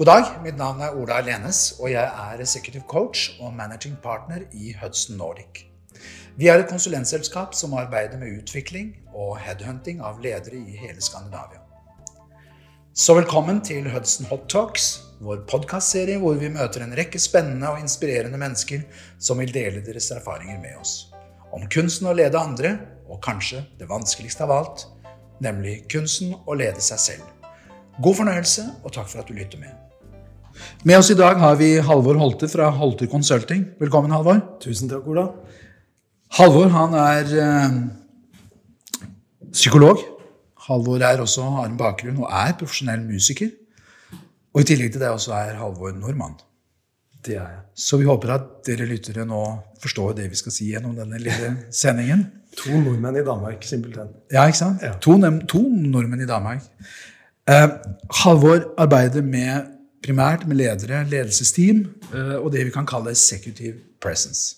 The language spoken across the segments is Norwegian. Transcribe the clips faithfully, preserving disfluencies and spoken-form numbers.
God dag, mitt navn er Ola Lenes, og jeg er executive coach og managing partner i Hudson Nordic. Vi er et konsulentselskap som arbeider med utvikling og headhunting av ledere i hele Skandinavia. Så velkommen til Hudson Hot Talks, vår podcastserie hvor vi møter en rekke spennende og inspirerende mennesker som vil dele deres erfaringer med oss. Om kunsten å lede andre, og kanskje det vanskeligste av alt, nemlig kunsten å lede seg selv. God fornøyelse, og takk for at du lytter med. Med oss i dag har vi Halvor Holte fra Holte Consulting. Velkommen, Halvor. Tusen takk, Ola. Halvor, han er eh, psykolog. Halvor er også, har en bakgrunn og er profesjonell musiker. Og i tillegg til det også er Halvor nordmann. Det er jeg. Så vi håper at dere lyttere nå forstår det vi skal si gjennom denne lille sendingen. To nordmenn i Danmark, simpelthen. Ja, ikke sant? Ja. To, to nordmenn i Danmark. Uh, Halvor arbeider med primært med ledere, ledelsesteam, uh, og det vi kan kalle executive presence.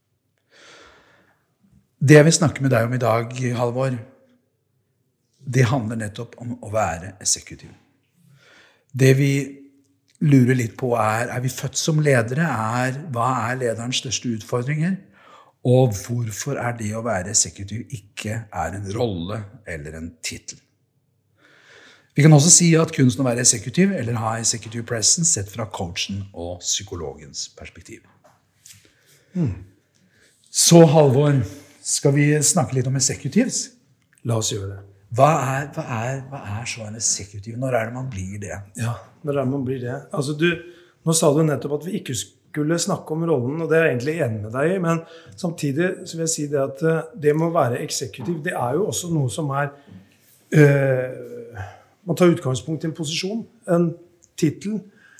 Det jeg vil snakke med deg om i dag, Halvor, det handler nettopp om å være executive. Det vi lurer litt på er, er vi født som ledere? Er, hva er lederens største utfordringer? Og hvorfor er det å være executive ikke er en rolle eller en titel? Vi kan også si at kunsten å være executive eller ha executive presence sett fra coachen og psykologens perspektiv. Hmm. Så Halvor, skal vi snakke litt om executives? La oss gjøre det. Hva er, hva er, hva er så en executive? Når er det man blir det? Ja, når er det man blir det? Altså du, nå sa du nettopp at vi ikke skulle snakke om rollen, og det er jeg egentlig enig med deg i, men samtidig så vil jeg si det at det må være executive. Det er jo også noe som er... Øh, Man tar utgangspunkt i en posisjon, en titel.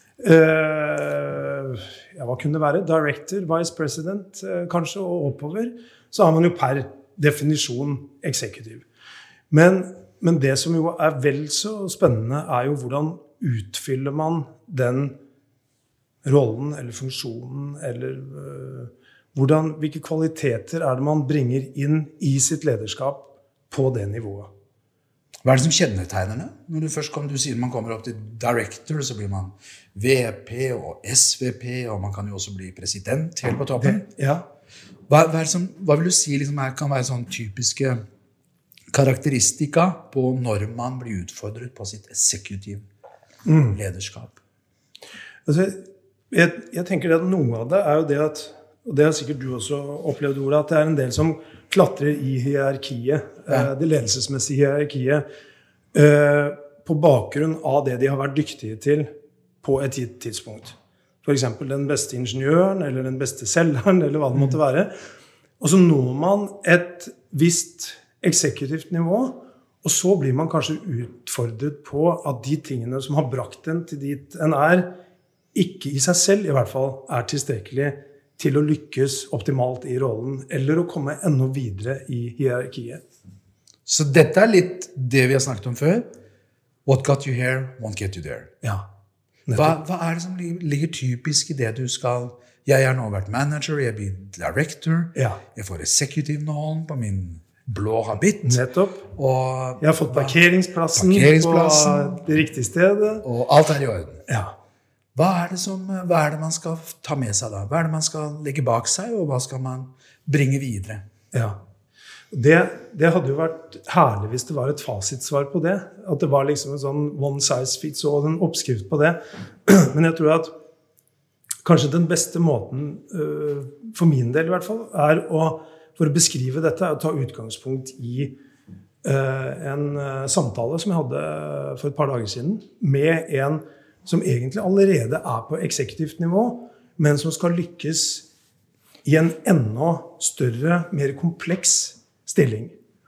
Eh, ja, hva kunne det være? Director, vice president, eh, kanskje, og oppover. Så har man jo per definisjon executive. Men, men det som jo er vel så spennende er jo hvordan utfyller man den rollen eller funksjonen, eller eh, hvordan, hvilke kvaliteter er det man bringer inn i sitt lederskap på det nivået. Hva er det som kjennetegner det? Når du først kom, du sier man kommer opp til director, så blir man V P og S V P, og man kan jo også bli president helt på toppen. Ja. Hva, hva, er det som, hva vil du si liksom, her kan være sånn typiske karakteristika på når man blir utfordret på sitt executive mm. lederskap? Altså, jeg, jeg tenker at noe av det er jo det at, og det har sikkert du også opplevd, Ola, at det er en del som klatrer i hierarkiet, ja. Det ledelsesmessige hierarkiet, på bakgrunn av det de har vært dyktige til på et gitt tidspunkt. For eksempel den beste ingeniøren, eller den beste selgeren, eller hva det måtte være. Og så når man et visst eksekutivt nivå, og så blir man kanskje utfordret på at de tingene som har brakt en til dit en er, ikke i seg selv i hvert fall er tilstrekkelig til å lykkes optimalt i rollen, eller å komme enda videre i hierarkiet. Så dette er litt det vi har snakket om før. What got you here, won't get you there. Ja. Hva, hva er det som ligger typisk i det du skal... Jeg har nå vært manager, jeg blir director, ja. Jeg får executive-nålen på min blå habit. Nettopp. Og, jeg har fått parkeringsplassen, parkeringsplassen på det riktige stedet. Og alt er i orden. Ja. Hva er, det som, hva er det man skal ta med seg da? Hva er det man skal legge bak seg, og hva skal man bringe videre? Ja, det, det hadde jo vært herlig hvis det var et fasitsvar på det. At det var liksom en sånn one size fits all, en oppskrift på det. Men jeg tror at kanskje den beste måten, for min del i hvert fall, er å, for å beskrive dette, er å ta utgangspunkt i en samtale som jeg hadde for et par dager siden, med en som egentlig allerede er på eksekutivt nivå, men som skal lykkes i en enda større, mer kompleks stilling.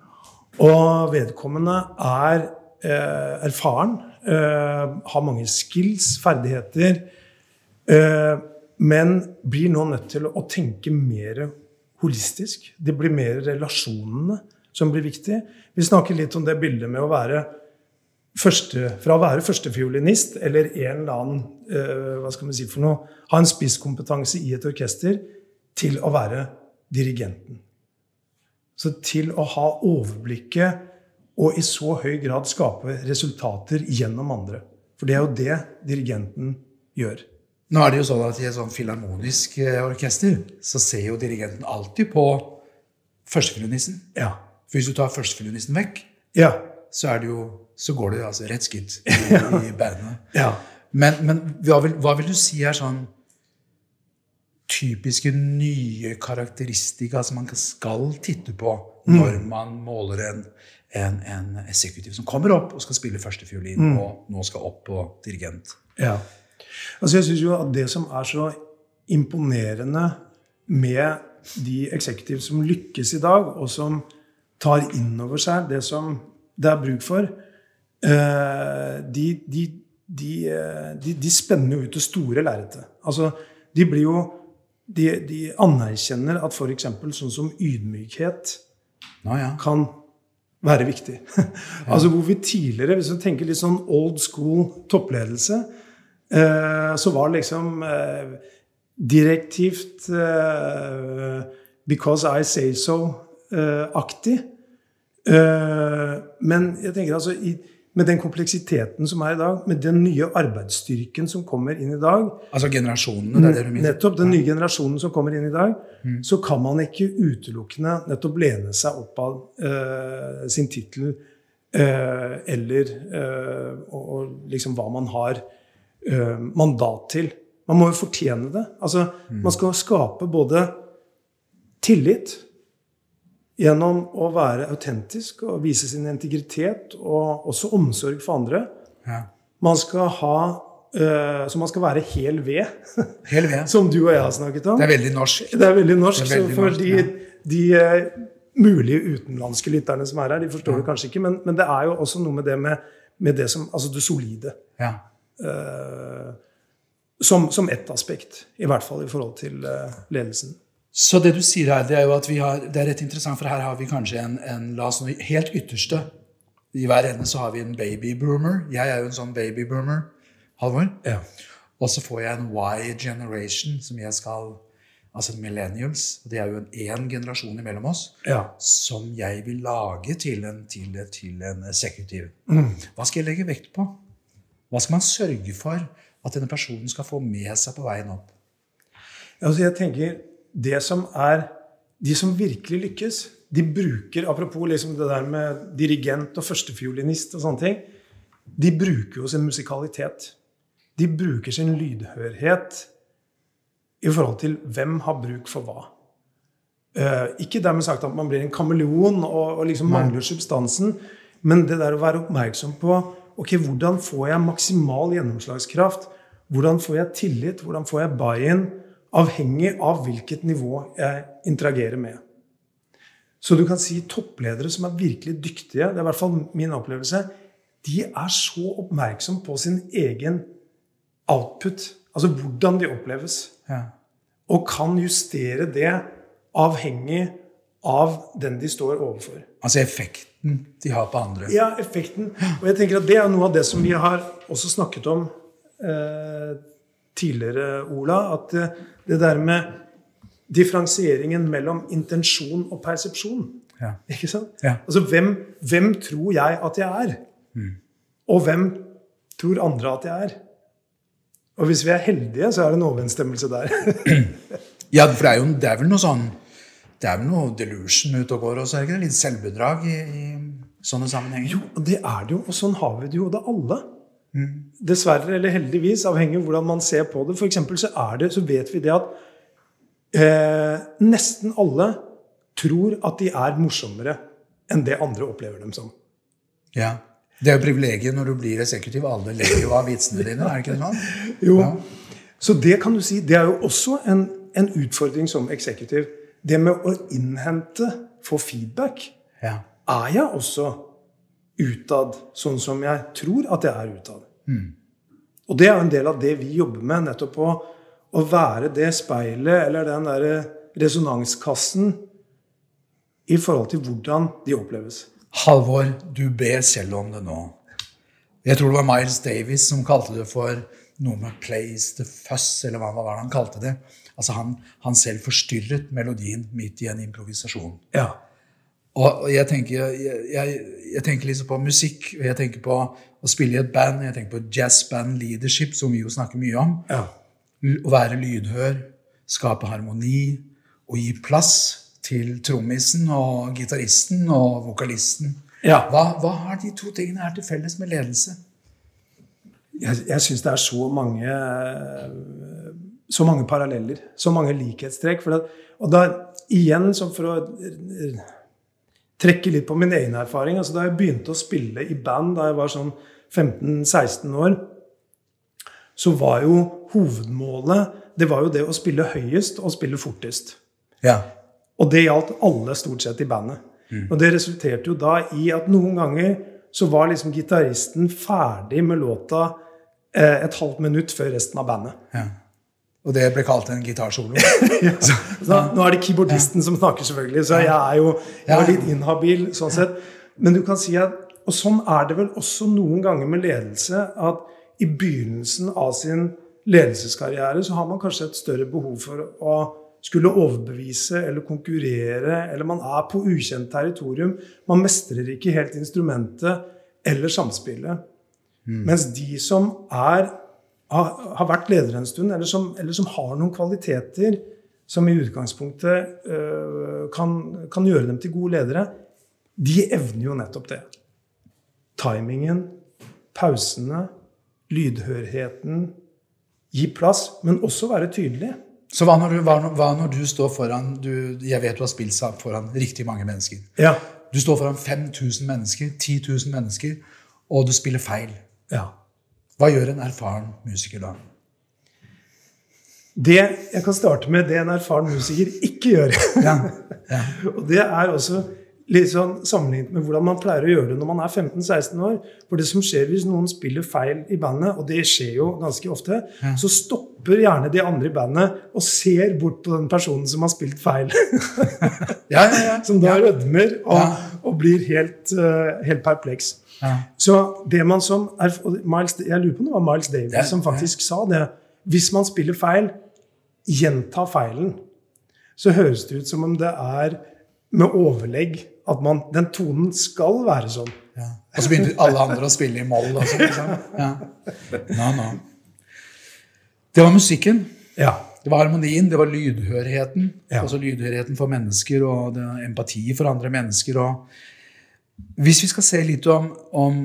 Og vedkommende er eh, erfaren, eh, har mange skills, ferdigheter, eh, men blir nå nødt til å tenke mer holistisk. Det blir mer relasjonene som blir viktig. Vi snakker litt om det bildet med å være Første, fra å være førstefiolinist, eller en eller annen, uh, hva skal man si for noe, ha en spisskompetanse i et orkester, til å være dirigenten. Så til å ha overblikket, og i så høy grad skape resultater gjennom andre. For det er jo det dirigenten gjør. Nå er det jo sånn at i et sånn filharmonisk orkester så ser jo dirigenten alltid på førstefiolinisten. Ja. For hvis du tar førstefiolinisten vekk, ja. så, er det jo, så går det altså rett skitt i, i bandene. Ja. Men, men hva, vil, hva vil du si er sånn typiske nye karakteristika som man skal titte på når mm. man måler en, en, en eksekutiv som kommer opp og skal spille førstefiolin mm. og nå skal opp på dirigent? Ja. Altså jeg synes jo at det som er så imponerende med de eksekutiv som lykkes i dag, og som tar inn over seg det som det er bruk for, de, de, de, de, de spenner jo ut det store lerretet. Altså, de blir jo, de, de anerkjenner at for eksempel sånn som ydmykhet Nå, ja. kan være viktig. Altså hvor vi tidligere, hvis vi tenker litt sånn old school toppledelse, så var det liksom direktivt because I say so-aktig. Men jeg tenker altså, med den kompleksiteten som er i dag, med den nye arbeidsstyrken som kommer inn i dag, altså generasjonene, det er det du mener? Nettopp, den nye generasjonen som kommer inn i dag, mm. så kan man ikke utelukkende nettopp lene seg opp av uh, sin titel uh, eller uh, og, og liksom hva man har uh, mandat til. Man må jo fortjene det. Altså, mm. man skal skape både tillit gjennom å være autentisk og vise sin integritet og også omsorg for andre. Ja. Man skal ha, uh, så man skal være hel ved, hel ved. Som du og jeg har snakket om. Det er veldig norsk. Det er veldig norsk, det er veldig så for norsk, de, ja. de uh, mulige utenlandske lytterne som er her, de forstår ja. det kanskje ikke, men, men det er jo også noe med det med, med det som, altså det solide. Ja. Uh, som, som ett aspekt, i hvert fall i forhold til uh, ledelsen. Så det du sier her, det er jo at vi har, det er rett interessant, for her har vi kanskje en, en la oss nå, helt ytterste. I hver ende så har vi en babyboomer. Jeg er jo en sånn babyboomer, Halvor. Ja. Og så får jeg en Y-generation, som jeg skal, altså millennials, og det er jo en, en generasjon imellom oss, ja. som jeg vil lage til en, til, til en eksekutiv. Mm. Hva skal jeg legge vekt på? Hva skal man sørge for at denne personen skal få med seg på veien opp? Altså jeg tenker, det som er, de som virkelig lykkes, de bruker, apropos liksom det der med dirigent og førstefiolinist og sånne ting, de bruker jo sin musikalitet. De bruker sin lydhørhet i forhold til hvem har bruk for hva. Uh, ikke dermed sagt at man blir en kameleon og, og liksom mangler substansen, men det der å være oppmerksom på, ok, hvordan får jeg maksimal gjennomslagskraft? Hvordan får jeg tillit? Hvordan får jeg buy-in? Avhengig av hvilket nivå jeg interagerer med. Så du kan si toppledere som er virkelig dyktige, det er i hvert fall min opplevelse, de er så oppmerksom på sin egen output, altså hvordan de oppleves, ja. og kan justere det avhengig av den de står overfor. Altså effekten de har på andre. Ja, effekten. Og jeg tenker at det er noe av det som vi har også snakket om eh, tidligere, Ola, at det der med differensieringen mellom intensjon og persepsjon, ja. ikke sant? Ja. Altså, hvem, hvem tror jeg at jeg er? Mm. Og hvem tror andre at jeg er? Og hvis vi er heldige, så er det en overensstemmelse der. Ja, for det er jo det er vel noe sånn, det er vel noe delusion ute og går, og så er det ikke litt selvbedrag i, i sånne sammenhenger? Jo, det er det jo, og sånn har vi det jo, det alle. Mm. Dessverre eller heldigvis, avhengig av hvordan man ser på det. For eksempel så, er det, så vet vi det at eh, nesten alle tror at de er morsommere enn det andre opplever dem som. Ja, det er jo privilegiet når du blir eksekutiv. Alle lever jo av vitsene dine, er det ikke sånn? Jo, ja. Så det kan du si, det er jo også en, en utfordring som eksekutiv. Det med å innhente, få feedback, ja. er jeg også utad, sånn som jeg tror at jeg er utad. Mm. Og det er en del av det vi jobber med, nettopp å, å være det speilet, eller den der resonanskassen, i forhold til hvordan de oppleves. Halvor, du ber selv om det nå. Jeg tror det var Miles Davis som kalte det for noe med place the fuss, eller hva var det han kalte det. Altså han, han selv forstyrret melodien midt i en improvisasjon. Ja. Og, og jeg, tenker, jeg, jeg, jeg tenker liksom på musikk, og jeg tenker på å spille i et band, jeg tenker på jazzband leadership, som vi jo snakker mye om. Ja. Å være lydhør, skape harmoni, og gi plass til trommisen og gitaristen og vokalisten. Ja. Hva, hva har de to tingene her til felles med ledelse? Jeg, jeg synes det er så mange så mange paralleller, så mange likhetstrekk. For det, og da igjen, så for å trekke litt på min egen erfaring, altså da jeg begynte å spille i band da jeg var sånn femten seksten år, så var jo hovedmålet, det var jo det å spille høyest og spille fortest. Ja. Og det gjaldt alle stort sett i bandet. Mm. Og det resulterte jo da i at noen ganger så var liksom gitaristen ferdig med låta eh, et halvt minutt før resten av bandet. Ja. Og det ble kalt en gitarsolo. Ja. Så, så, nå er det keyboardisten ja. som snakker selvfølgelig, så jeg er jo jeg er litt inhabil sånn sett. Men du kan si at, og sånn er det vel også noen ganger med ledelse, at i begynnelsen av sin ledelseskarriere så har man kanskje et større behov for å skulle overbevise eller konkurrere, eller man er på ukjent territorium. Man mestrer ikke helt instrumentet eller samspillet. Mm. Mens de som er, har, har vært ledere en stund, eller som, eller som har noen kvaliteter som i utgangspunktet øh, kan, kan gjøre dem til gode ledere, de evner jo nettopp det. Timingen, pausene, lydhørheten, gi plass, men også være tydelig. Så hva når du, hva, hva når du står foran, du, jeg vet du har spilt foran riktig mange mennesker. Ja. Du står foran fem tusen mennesker, ti tusen mennesker, og du spiller feil. Ja. Hva gjør en erfaren musiker da? Det jeg kan starte med, det en erfaren musiker ikke gjør. Ja. Ja. Og det er også litt sånn sammenlignet med hvordan man pleier å gjøre det når man er femten seksten år. For det som skjer hvis noen spiller feil i bandet, og det skjer jo ganske ofte, ja. så stopper gjerne de andre i bandet og ser bort på den personen som har spilt feil. Ja, ja, ja. Som da ja. rødmer og, ja. og blir helt, uh, helt perpleks. Ja. Så det man som er, Miles, jeg lurer på om det var Miles Davis ja. som faktisk ja. sa det. Hvis man spiller feil, gjenta feilen. Så høres det ut som om det er med overlegg at man, den tonen skal være sånn. Ja. Og så begynner alle andre å spille i moll. Og sånn, liksom. Ja. No, no. Det var musikken. Ja. Det var harmonien, det var lydhørheten. Ja. Altså lydhørheten for mennesker, og det var empati for andre mennesker. Og hvis vi skal se litt om, om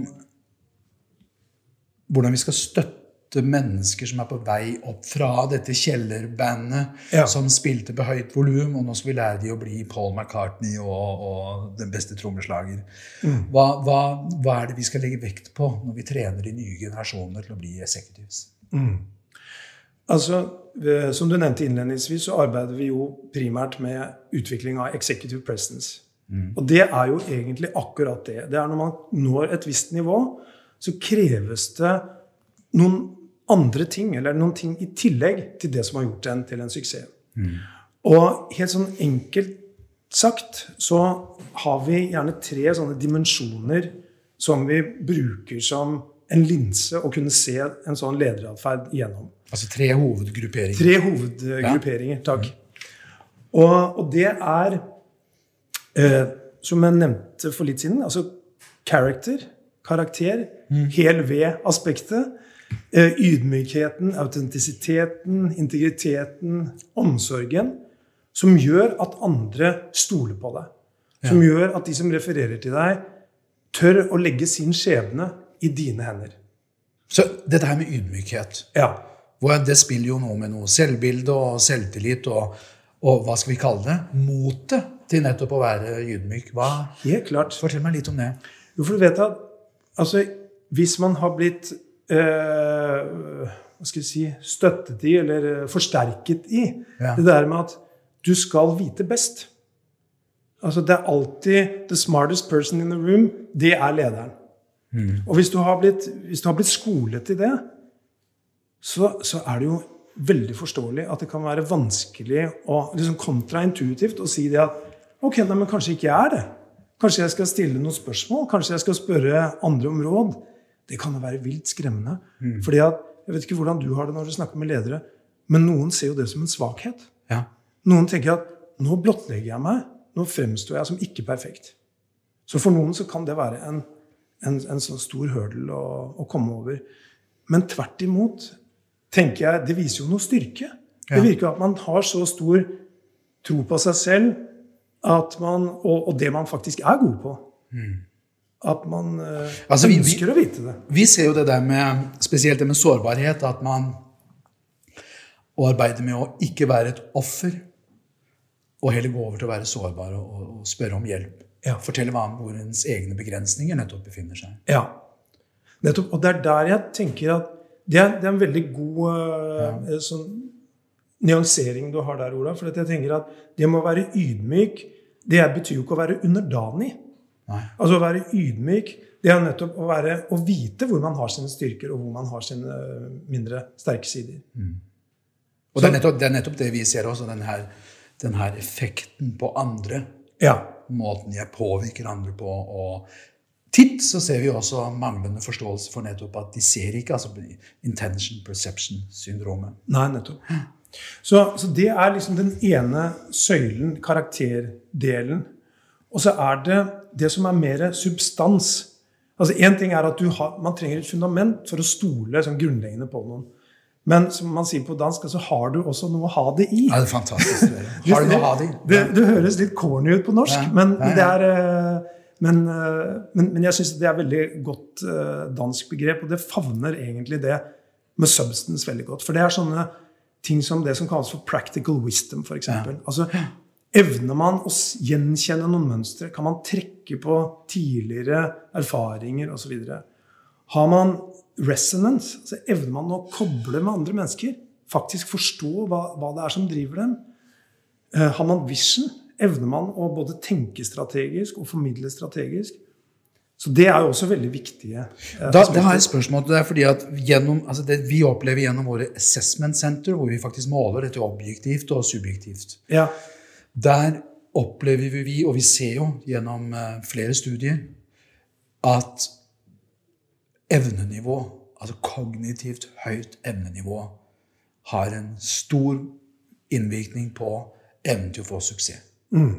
hvordan vi skal støtte mennesker som er på vei opp fra dette kjellerbandet ja. som spilte på høyt volum, og nå skal vi lære de å bli Paul McCartney og, og den beste trommeslager. Mm. Hva, hva, hva er det vi skal legge vekt på når vi trener de nye generasjoner til å bli executives? Mm. Altså, som du nevnte innledningsvis, så arbeider vi jo primært med utvikling av executive presence. Mm. Og det er jo egentlig akkurat det. Det er når man når et visst nivå, så kreves det noen andre ting, eller noen ting i tillegg til det som har gjort den til en suksess. Mm. Og helt sånn enkelt sagt, så har vi gjerne tre sånne dimensjoner som vi bruker som en linse å kunne se en sånn lederatferd igjennom. Altså tre hovedgrupperinger. Tre hovedgrupperinger, takk. Og, og det er, eh, som jeg nevnte for litt siden, altså character, karakter, mm. hel ved-aspektet, ydmykheten, autentisiteten, integriteten, omsorgen, som gjør at andre stoler på deg. Som ja. gjør at de som refererer til deg, tør å legge sin skjebne i dine hender. Så dette her med ydmykhet, ja. det spiller jo noe med noe selvbilde og selvtillit, og, og hva skal vi kalle det? Motet til nettopp å være ydmyk. Hva? Helt klart. Fortell meg litt om det. Jo, for du vet at altså, hvis man har blitt Uh, hva skal jeg si, støttet i, eller forsterket i, ja. det der med at du skal vite best. Altså, det er alltid the smartest person in the room, det er lederen. Mm. Og hvis du har blitt, hvis du har blitt skolet i det, så, så er det jo veldig forståelig at det kan være vanskelig og liksom kontraintuitivt å si det at, ok, nei, men kanskje ikke jeg er det. Kanskje jeg skal stille noen spørsmål, kanskje jeg skal spørre andre om råd. Det kan jo være vilt skremmende. Mm. Fordi at, jeg vet ikke hvordan du har det når du snakker med ledere, men noen ser jo det som en svakhet. Ja. Noen tenker at nå blottlegger jeg meg, nå fremstår jeg som ikke perfekt. Så for noen så kan det være en, en, en sånn stor hurdle å, å komme over. Men tvert imot, tenker jeg, det viser jo noe styrke. Ja. Det virker at man har så stor tro på seg selv, at man, og, og det man faktisk er god på. Mm. At man uh, altså, ønsker vi, vi, å vite det. Vi ser jo det der med, spesielt det med sårbarhet, at man å arbeide med å ikke være et offer, og heller gå over til å være sårbar og, og spørre om hjelp. Ja. Fortelle hva om hvor ens egne begrensninger nettopp befinner seg. Ja, nettopp. Og det er der jeg tenker at det er, det er en veldig god uh, ja. sånn, nyansering du har der, Ola. For jeg tenker at det må være ydmyk, det betyr jo ikke å være underdanig. Nei. Altså å være ydmyk, det er nettopp å, være, å vite hvor man har sine styrker, og hvor man har sine mindre sterke sider. Mm. Og det er, nettopp, det er nettopp det vi ser også, den her, den her effekten på andre. Ja. Måten jeg påvirker andre på, og titt så ser vi også manglende forståelse for nettopp at de ser ikke, altså intention perception syndromet. Nei, nettopp. Så, så det er liksom den ene søylen, karakterdelen. Og så er det det som er mer substans. Altså en ting er at du har, man trenger et fundament for å stole sånn grunnleggende på noen. Men som man sier på dansk, så har du også noe å ha det i. Ja, det er fantastisk. Har du noe å ha det i? Det, det, det høres litt corny ut på norsk, ja, men, ja, ja. Det er, men, men, men jeg synes det er et veldig godt dansk begrep, og det favner egentlig det med substance veldig godt. For det er sånne ting som det som kalles for practical wisdom, for eksempel. Ja. Altså, evner man å gjenkjenne noen mønstre? Kan man trekke på tidligere erfaringer og så videre? Har man resonance? Altså, evner man å koble med andre mennesker? Faktisk forstå hva, hva det er som driver dem? Uh, har man vision? Evner man å både tenke strategisk og formidle strategisk? Så det er jo også veldig viktige. Da, da har jeg et spørsmål til deg, fordi at gjennom, altså det vi opplever gjennom våre assessment center, hvor vi faktisk måler dette objektivt og subjektivt. Ja. Der opplever vi, og vi ser jo gjennom uh, flere studier, at evnenivå, altså kognitivt høyt evnenivå, har en stor innvirkning på evnen til å få suksess. Mm.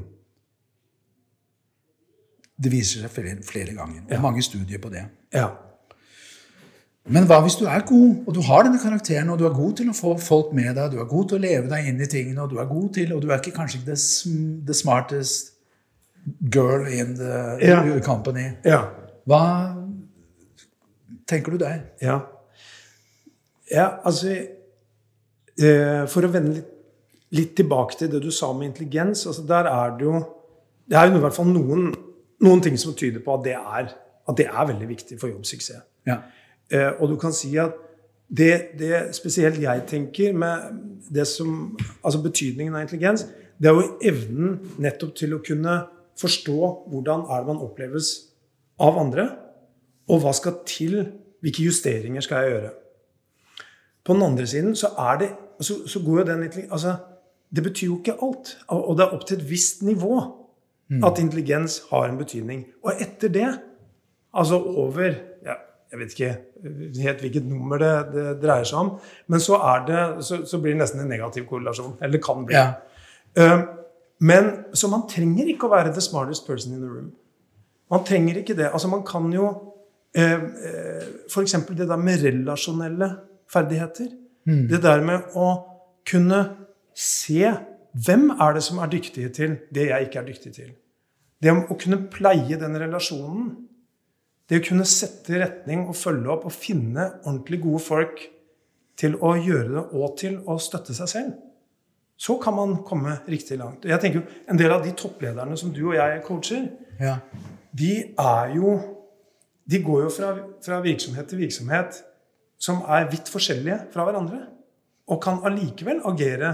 Det viser seg flere, flere ganger, og ja. Mange studier på det. Ja. Men hva hvis du er god, og du har denne karakteren, og du er god til å få folk med deg, du er god til å leve deg inn i tingene, og du er god til, og du er ikke kanskje ikke the, the smartest girl in the ja. company. Ja. Hva tenker du der? Ja, ja altså, eh, for å vende litt, litt tilbake til det du sa med intelligens, altså der er det jo, det er jo i hvert fall noen Noen ting som tyder på at det er, at det er veldig viktig for jobbsuksess. Ja. Eh, og du kan si at det, det spesielt jeg tenker med det som, altså betydningen av intelligens, det er jo evnen nettopp til å kunne forstå hvordan er det man oppleves av andre, og hva skal til, hvilke justeringer skal jeg gjøre. På den andre siden så er det, så, så går jo den, altså det betyr jo ikke alt, og det er opp til et visst nivå, at intelligens har en betydning. Og etter det, altså over, ja, jeg vet ikke helt hvilket nummer det, det dreier seg om, men så, er det, så, så blir det nesten en negativ korrelasjon, eller det kan bli. Ja. Uh, men så man trenger ikke å være the smartest person in the room. Man trenger ikke det. Altså man kan jo, uh, uh, for eksempel det der med relasjonelle ferdigheter, mm. det der med å kunne se hvem er det som er dyktige til det jeg ikke er dyktig til. Det å kunne pleie den relasjonen, det å kunne sette retning og følge opp og finne ordentlig gode folk til å gjøre det og til å støtte seg selv, så kan man komme riktig langt. Jeg tenker jo, en del av de topplederne som du og jeg coacher, ja. de er jo, de går jo fra, fra virksomhet til virksomhet som er vidt forskjellige fra hverandre, og kan allikevel agere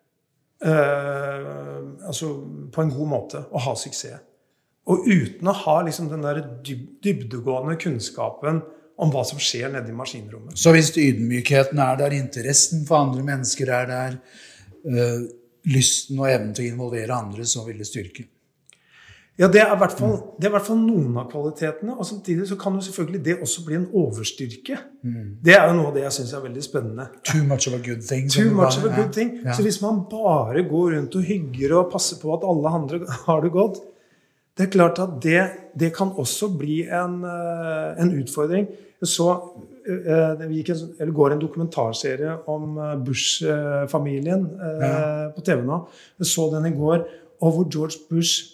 Uh, altså på en god måte og ha suksess. Og uten å ha liksom den der dyb dybdegående kunnskapen om hva som skjer nede i maskinrommet. Så hvis ydmykheten er der, interessen for andre mennesker er der, uh, lysten og evnen til å involvere andre, så vil det styrke. Ja, det er i hvert fall, det er i hvert fall noen av kvalitetene, og samtidig så kan jo selvfølgelig det også bli en overstyrke. Mm. Det er jo noe av det jeg synes er veldig spennende. Too much of a good thing. Too much of a good thing. Ja. Så hvis man bare går rundt og hygger og passer på at alle andre har det godt, det er klart at det, det kan også bli en, en utfordring. Jeg så, det gikk en, eller går en dokumentarserie om Bush-familien ja. På T V nå. Jeg så den i går, og hvor George Bush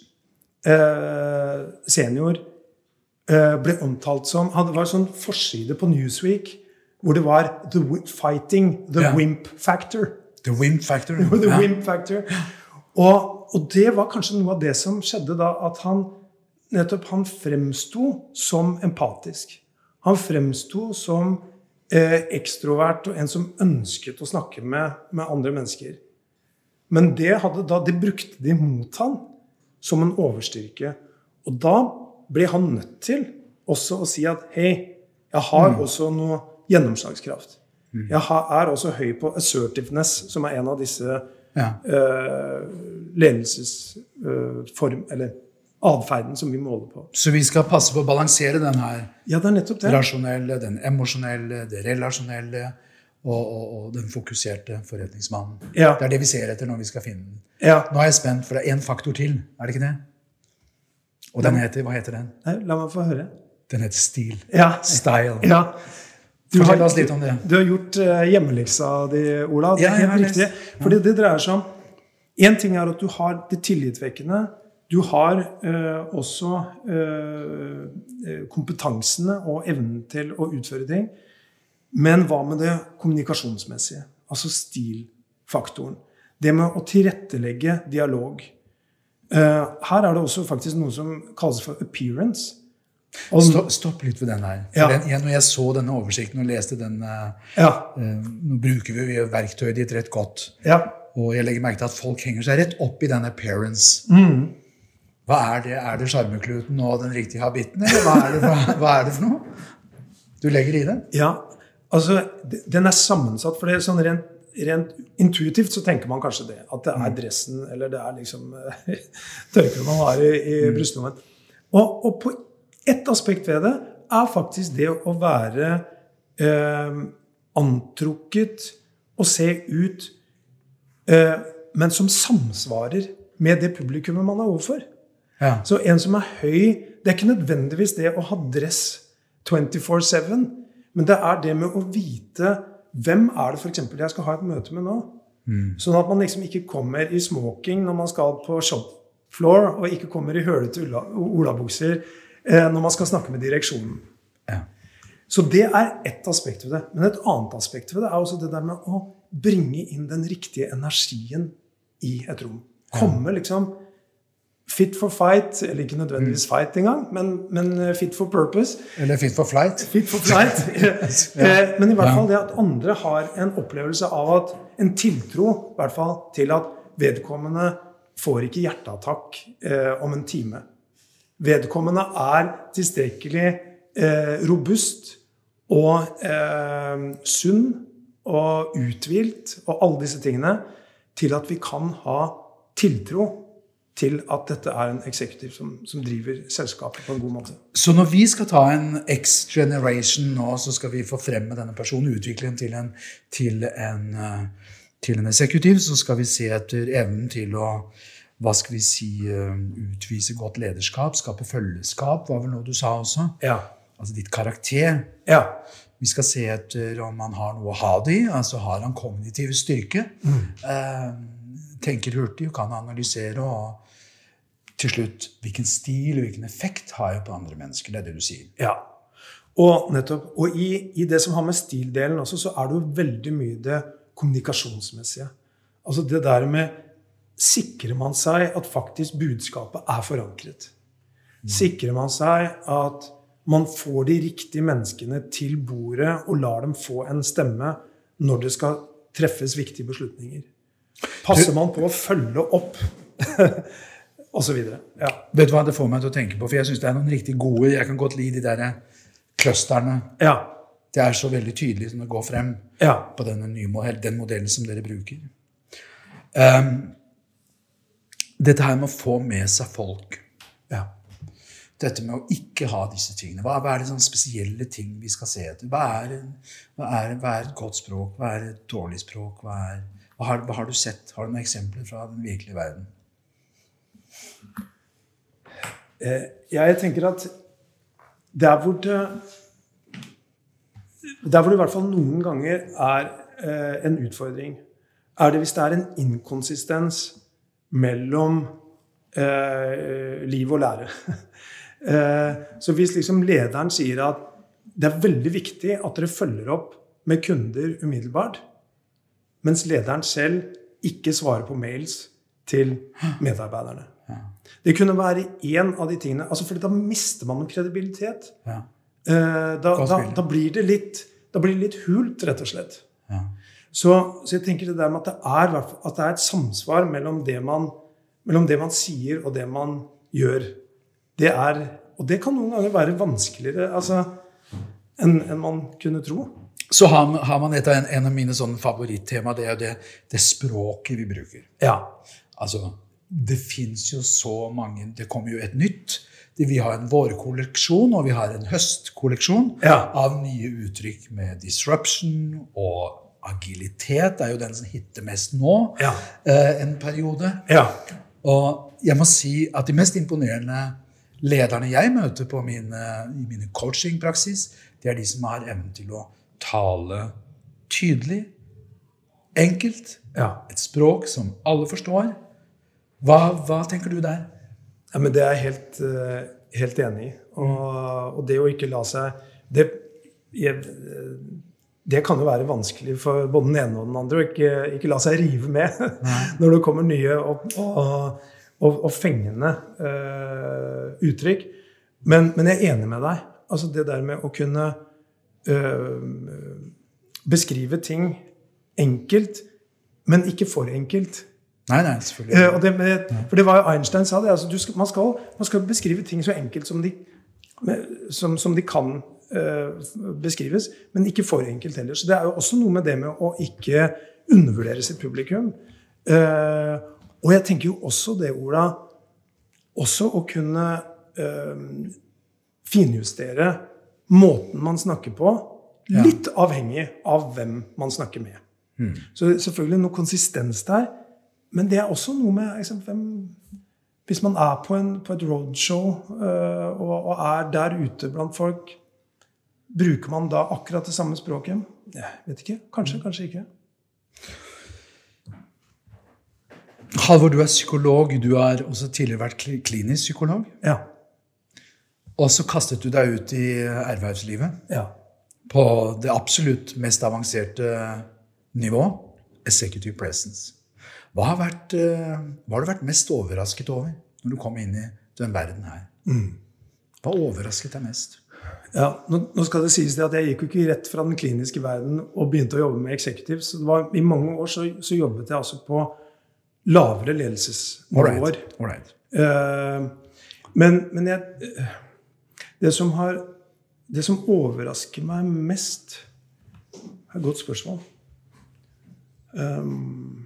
eh, senior eh, ble omtalt som, det var en sånn forside på Newsweek, hvor det var the fighting the ja. Wimp factor. The wimp factor. the ja. wimp factor. Og, og det var kanskje noe av det som skjedde da, at han nettopp han fremstod som empatisk. Han fremstod som eh, ekstrovert og en som ønsket å snakke med, med andre mennesker. Men det, hadde da, det brukte de mot han som en overstyrke. Og da ble han nødt til også å si at hei, jeg har mm. også noe gjennomslagskraft. Mm. Jeg har, er også høy på assertiveness, som er en av disse ja. uh, ledelsesform, uh, eller adferden som vi måler på. Så vi skal passe på å balansere den her ja, det er nettopp det. Rasjonelle, den emosjonelle, det relasjonelle og, og, og den fokuserte forretningsmannen. Ja. Det er det vi ser etter når vi skal finne den. Ja. Nå er jeg spent, for det er en faktor til, er det ikke det? Og den heter, hva heter den? Nei, la meg få høre. Den heter stil. Ja. Style. Ja. Du Fortell har, oss litt om det. Du har gjort uh, hjemmeleksa di, Ola. Det er ja, helt riktig. Fordi det dreier seg om, en ting er at du har det tillitvekkende, du har uh, også uh, kompetansene og evnen til å utføre ting, men hva med det kommunikasjonsmessige? Altså stilfaktoren. Det med å tilrettelegge dialog. Uh, her er det også faktisk noe som kalles for appearance. Stopp, stopp litt ved den her. For ja. den, jeg, når jeg så denne oversikten og leste den, ja. uh, nå bruker vi jo verktøyet ditt rett godt. Ja. Og jeg legger merke til at folk henger seg rett opp i den appearance. Mm. Hva er det? Er det skjermekluten og den riktige habitten? Eller hva er det, hva, hva er det for noe? Du legger i det? Ja, altså, den er sammensatt, for det er sånn rent, rent intuitivt så tenker man kanskje det, at det er dressen, eller det er liksom tørker man har i, i mm. brystlommen. Og, og på et aspekt ved det er faktisk det å være eh, antrukket og se ut, eh, men som samsvarer med det publikummet man er overfor. Ja. Så en som er høy, det er ikke nødvendigvis det å ha dress twenty-four seven, men det er det med å vite hvem er det for eksempel jeg skal ha et møte med nå. Mm. Sånn at man liksom ikke kommer i smoking når man skal på shop floor, og ikke kommer i hølete olabukser eh, når man skal snakke med direksjonen. Ja. Så det er ett aspekt ved det. Men et annet aspekt ved det er også det der med å bringe inn den riktige energien i et rom. Komme liksom fit for fight, eller ikke nødvendigvis fight engang, men, men fit for purpose. Eller fit for flight. Fit for flight. ja. Men i hvert fall det at andre har en opplevelse av at en tiltro, i hvert fall til at vedkommende får ikke hjerteattakk eh, om en time. Vedkommende er tilstrekkelig eh, robust og eh, sunn og uthvilt og alle disse tingene til at vi kan ha tiltro til at dette er en eksekutiv som, som driver selskapet på en god måte. Så når vi skal ta en X-generation nå, så skal vi få frem med denne personen, utvikle den til en, til en, til en eksekutiv, så skal vi se etter evnen til å, hva skal vi si, utvise godt lederskap, skape følgeskap, var vel noe du sa også? Ja. Altså ditt karakter. Ja. Vi skal se etter om han har noe å ha det i, altså har han kognitiv styrke, mm. eh, tenker hurtig og kan analysere, og til slutt, hvilken stil og hvilken effekt har jeg på andre mennesker, det er det du sier. Ja, og nettopp, og i, i det som har med stildelen også, så er det jo veldig mye det kommunikasjonsmessige. Altså det der med, sikrer man seg at faktisk budskapet er forankret? Mm. Sikrer man seg at man får de riktige menneskene til bordet og lar dem få en stemme når det skal treffes viktige beslutninger? Passer man på å følge opp og så videre. Ja. Vet du hva det får meg til å tenke på? For jeg synes det er noen riktig gode, jeg kan godt lide de der clusterne. Ja. Det er så veldig tydelig som det går frem ja. På denne nye modell, den modellen som dere bruker. Um, dette her med å få med seg folk. Ja. Dette med å ikke ha disse tingene. Hva, hva er det sånne spesielle ting vi skal se etter? Hva er, hva er, hva er et godt språk? Hva er et dårlig språk? Hva, er, hva, har, hva har du sett? Har du noen eksempler fra den virkelige verden? Eh, jeg tenker at der hvor det der hvor det i hvert fall noen ganger er eh, en utfordring, er det hvis det er en inkonsistens mellom eh, liv og lære. eh, så hvis liksom lederen sier at det er veldig viktig at dere følger opp med kunder umiddelbart, mens lederen selv ikke svarer på mails til medarbeiderne. Ja. Det kunne være en av de tingene, altså for da mister man noen kredibilitet. Ja. Eh, da, da, da blir det litt, da blir det litt hult, rett og slett. Ja. Så, så jeg tenker det der med at det er, at det er et samsvar mellom det, man, mellom det man sier og det man gjør. Det er, og det kan noen ganger være vanskeligere altså, enn, enn man kunne tro. Så har, har man et av en, en av mine sånne favorittema, det er det, det språket vi bruker. Ja. Altså, det finnes jo så mange, det kommer jo et nytt. Det, vi har en vårkolleksjon, og vi har en høstkolleksjon ja. Av nye uttrykk med disruption og agilitet. Det er jo den som hitter mest nå, ja. eh, en periode. Ja. Og jeg må si at de mest imponerende lederne jeg møter på mine, i mine coachingpraksis, det er de som har evnen til å tale tydelig, enkelt, ja. Et språk som alle forstår. Hva, hva tenker du der? Ja, men det er jeg helt, helt enig i. Og, og det å ikke la seg... Det, jeg, det kan jo være vanskelig for både den ene og den andre å ikke, ikke la seg rive med når det kommer nye og, og, og, og fengende uh, uttrykk. Men, men jeg er enig med deg. Altså det der med å kunne Uh, beskrive ting enkelt, men ikke for enkelt. Nei, nei, selvfølgelig. Uh, og det, med, for det var jo Einstein sa det, altså, du skal, man, skal, man skal beskrive ting så enkelt som de, som, som de kan uh, beskrives, men ikke for enkelt heller. Så det er jo også noe med det med å ikke undervurdere sitt publikum. Uh, og jeg tenker jo også det, Ola, også å kunne uh, finjustere måten man snakker på, litt ja. Avhengig av hvem man snakker med. Mm. Så selvfølgelig noe konsistens der, men det er også noe med liksom, hvem, hvis man er på, en, på et roadshow uh, og, og er der ute blant folk, bruker man da akkurat det samme språket? Jeg vet ikke. Kanskje, mm. kanskje ikke. Halvor, du er psykolog. Du har også tidligere vært klinisk psykolog. Ja. Og så kastet du deg ut i erhvervslivet. Ja. På det absolutt mest avanserte nivå, executive presence. Hva har, vært, hva har du vært mest overrasket over når du kom inn i den verden her? Mm. Hva overrasket deg mest? Ja, nå, nå skal det sies det at jeg gikk jo ikke rett fra den kliniske verden og begynte å jobbe med executive. Så det var, i mange år så, så jobbet jeg altså på lavere ledelsesnivåer. All right. All right. Uh, men, men jeg... Det som, har, det som overrasker meg mest er et godt spørsmål. Um,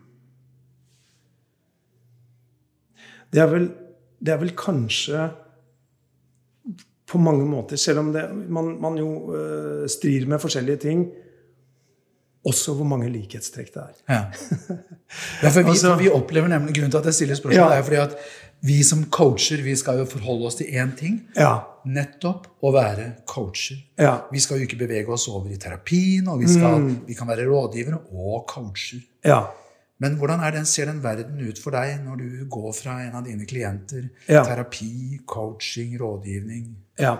det, er vel, det er vel kanskje på mange måter, selv om det, man, man jo uh, strir med forskjellige ting, også hvor mange likhetstrekk det er. Ja, ja for, vi, altså, for vi opplever nemlig, grunnen til at jeg stiller spørsmål, ja. Er fordi at vi som coacher, vi skal jo forholde oss til én ting, ja. Nettopp å være coacher. Ja. Vi skal jo ikke bevege oss over i terapien, og vi, skal, mm. vi kan være rådgivere og coacher. Ja. Men hvordan er den, ser den verden ut for deg når du går fra en av dine klienter? Ja. Terapi, coaching, rådgivning? Ja.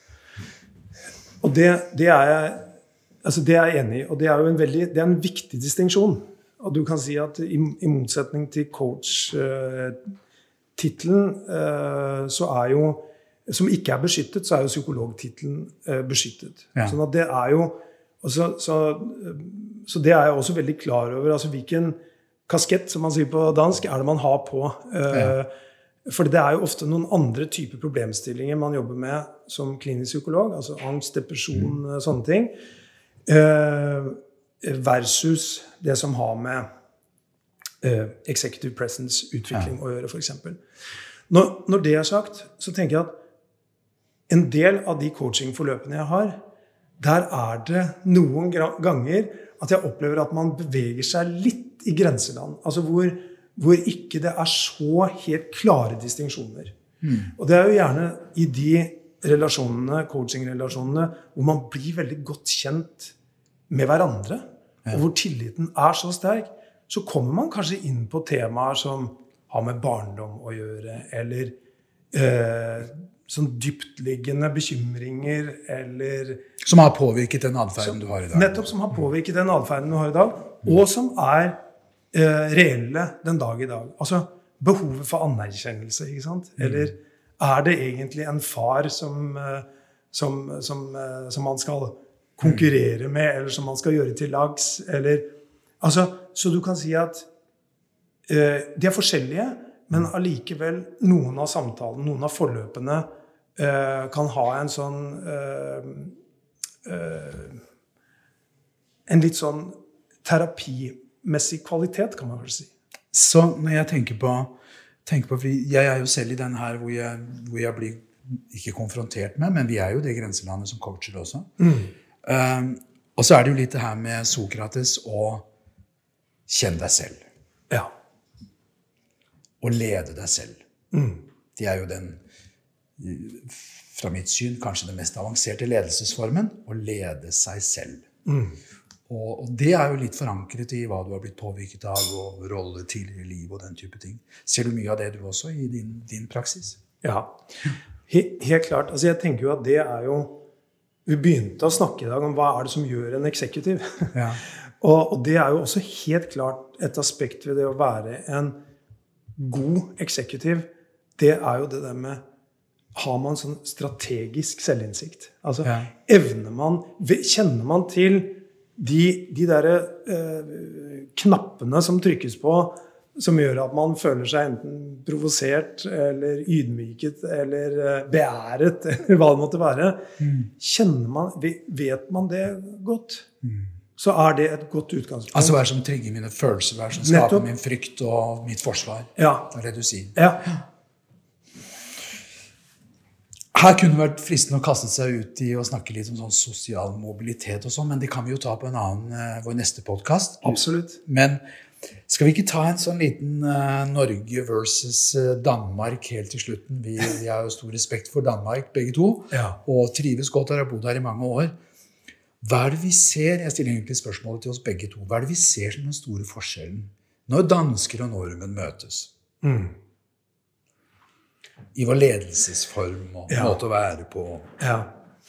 Og det, det er jeg Altså det er jeg enig i, og det er jo en veldig, det er en viktig distinksjon. Og du kan si at i, i motsetning til coach-titlen, uh, så er jo, som ikke er beskyttet, så er jo psykologtitlen uh, beskyttet. Ja. Sånn at det er jo, så, så, så det er jeg også veldig klar over, altså hvilken kaskett, som man sier på dansk, er det man har på. Uh, ja. For det er jo ofte noen andre typer problemstillinger man jobber med som klinisk psykolog, altså angst, depresjon, mm. sånne ting. Uh, versus det som har med uh, executive presence utvikling ja. Å gjøre, for eksempel. Når, når det er sagt, så tenker jeg at en del av de coachingforløpene jeg har, der er det noen ganger at jeg opplever at man beveger seg litt i grenseland. Altså hvor, hvor ikke det er så helt klare distinksjoner. Mm. Og det er jo gjerne i de relasjonene, coaching-relasjonene, hvor man blir veldig godt kjent med hverandre, ja. Og hvor tilliten er så sterk, så kommer man kanskje inn på temaer som har med barndom å gjøre, eller eh, sånn dyptliggende bekymringer, eller... Som har påvirket den adferden du har i dag. Nettopp som har påvirket den adferden du har i dag, og som er eh, reelle den dag i dag. Altså, behovet for anerkjennelse, ikke sant? Eller er det egentlig en far som, eh, som, som, eh, som man skal konkurrere med, eller som man skal gjøre til lags, eller... Altså, så du kan si at eh, de er forskjellige, men allikevel noen av samtalen, noen av forløpene eh, kan ha en sånn eh, eh, en litt sånn terapimessig kvalitet, kan man vel si. Så når jeg tenker på, tenker på fordi jeg er jo selv i den her hvor jeg, hvor jeg blir ikke konfrontert med, men vi er jo det grenselandet som coacher også. Mm. Um, og så er det jo litt det her med Sokrates og kjenn deg selv. Ja. Og lede deg selv. Mm. Det er jo den, fra mitt syn, kanskje den mest avanserte ledelsesformen, å lede seg selv. Mm. Og, og det er jo litt forankret i hva du har blitt påvirket av, og rolle tidligere i liv og den type ting. Ser du mye av det du også i din, din praksis? Ja, He, helt klart. Altså jeg tenker jo at det er jo, vi begynte å snakke i dag om hva er det som gjør en eksekutiv. Ja. og, og det er jo også helt klart et aspekt ved det å være en god eksekutiv. Det er jo det der med, har man sånn strategisk selvinnsikt? Altså, ja. evner man, kjenner man til de, de der eh, knappene som trykkes på, som gjør at man føler seg enten provosert, eller ydmyket, eller beæret, eller hva det måtte være. Mm. Kjenner man, vet man det godt, mm. så er det et godt utgangspunkt. Altså hva er det som trigger mine følelser, hva er det som skaper Nettopp. Min frykt og mitt forsvar? Ja. Det er det du sier. Ja. Her kunne det vært fristende å kaste seg ut i å snakke litt om sånn sosial mobilitet og sånn, men det kan vi jo ta på en annen, vår neste podcast. Absolutt. Men skal vi ikke ta en sånn liten uh, Norge versus uh, Danmark helt til slutten? Vi, vi har jo stor respekt for Danmark, begge to, ja. og trives godt og har bodd her i mange år. Hva er det vi ser, jeg stiller egentlig spørsmålet til oss begge to, hva er det vi ser som den store forskjellen når dansker og nordmenn møtes? Mm. I vår ledelsesform og ja. Måte å være på. Ja.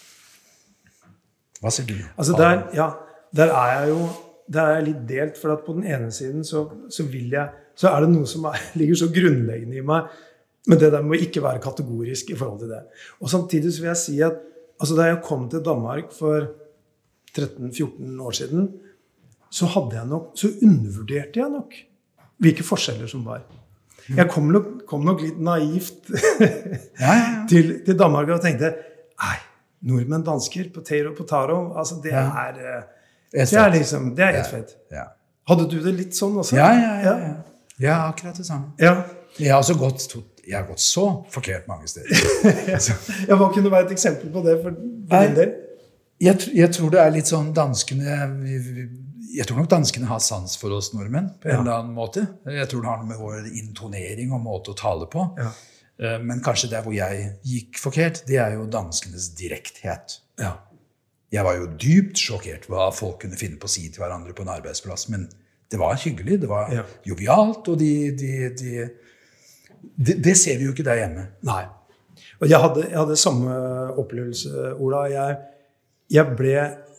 Hva ser du? Altså der, ja, der er jeg jo der er jeg litt delt, for at på den ene siden så, så vil jeg, så er det noe som er, ligger så grunnleggende i meg, men det der må ikke være kategorisk i forhold til det. Og samtidig så vil jeg si at, altså da jeg kom til Danmark for tretten fjorten år siden, så hadde jeg nok, så undervurderte jeg nok hvilke forskjeller som var. Jeg kom nok, kom nok litt naivt ja, ja, ja. Til, til Danmark og tenkte, nei, nordmenn, dansker, potato, potaro, altså det ja. er... Det er liksom, det er et fett. Ja. Hadde du det litt sånn også? Ja, ja, ja. Ja, ja akkurat det samme. Ja. Jeg har også gått, jeg har gått så forkert mange steder. ja, hva kunne være et eksempel på det for, for din del? Jeg, jeg tror det er litt sånn danskene, jeg tror nok danskene har sans for oss nordmenn på en ja. Eller annen måte. Jeg tror det har noe med vår intonering og måte å tale på. Ja. Men kanskje der hvor jeg gikk forkert, det er jo danskenes direkthet. Ja. Jeg var jo dypt sjokkert hva folk kunne finne på å si til hverandre på en arbeidsplass, men det var hyggelig, det var ja. Jovialt, og de, de, de, de, det ser vi jo ikke der hjemme. Nei. Og jeg hadde, jeg hadde samme opplevelse, Ola. Jeg, jeg ble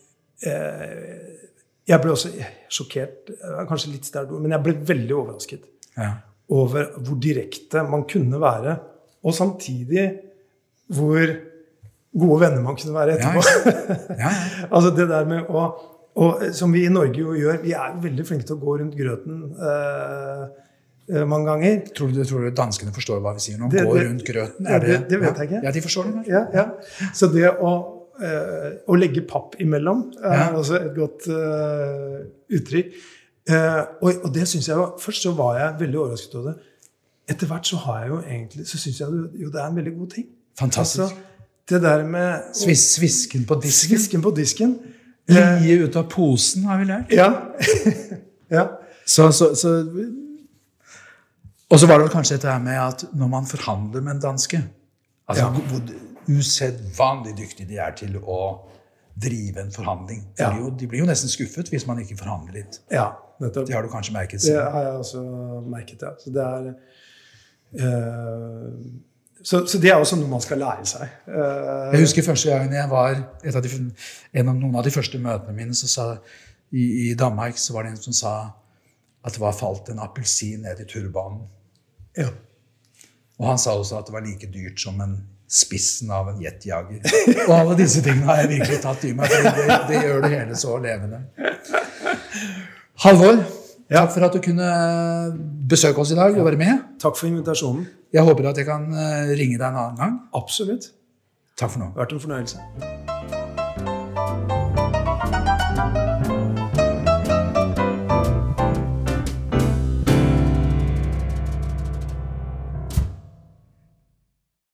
eh, jeg ble også sjokkert, kanskje litt sterkt ord, men jeg ble veldig overrasket ja. Over hvor direkte man kunne være, og samtidig hvor gode venner man kunne være etterpå. Ja, ja. Ja, ja. altså det der med å, og som vi i Norge jo gjør, vi er veldig flinke til å gå rundt grøten eh, mange ganger. Tror du, tror du danskene forstår hva vi sier nå? Det, gå det, rundt grøten? Er det, det, det vet ja? jeg ikke. Ja, de forstår det. Ja, ja. Så det å, eh, å legge papp imellom er ja. Også et godt eh, uttrykk. Eh, og, og det synes jeg jo, først så var jeg veldig overrasket over det. Etter hvert så har jeg jo egentlig, så synes jeg jo det er en veldig god ting. Fantastisk. Altså, det der med... Svis, svisken på disken. Svisken på disken. Lie ut av posen, har vi lært. Ja. ja. Så, så, så Og så var det vel kanskje dette her med at når man forhandler med en danske, altså Ja. hvor usedvanlig dyktig de er til å drive en forhandling. De, Ja. blir jo, de blir jo nesten skuffet hvis man ikke forhandler litt. Ja, nettopp. Det har du kanskje merket Det selv. har jeg også merket, ja. Så det er eh, så, så det er også noe man skal lære seg. Eh, Jeg husker første gangen jeg var et av de, en av noen av de første møtene mine, så sa, i, i Danmark, så var det en som sa at det var falt en appelsin ned i turbanen. ja. Og han sa også at det var like dyrt som en spissen av en jetjager. Og alle disse tingene har jeg virkelig tatt i meg, for det, det gjør det hele så levende. Halvor, Ja. takk for at du kunne besøke oss i dag og være med. Takk for invitasjonen. Jeg håper at jeg kan eh, ringe deg en annen gang. Absolutt. Takk for nå. Det har vært en fornøyelse.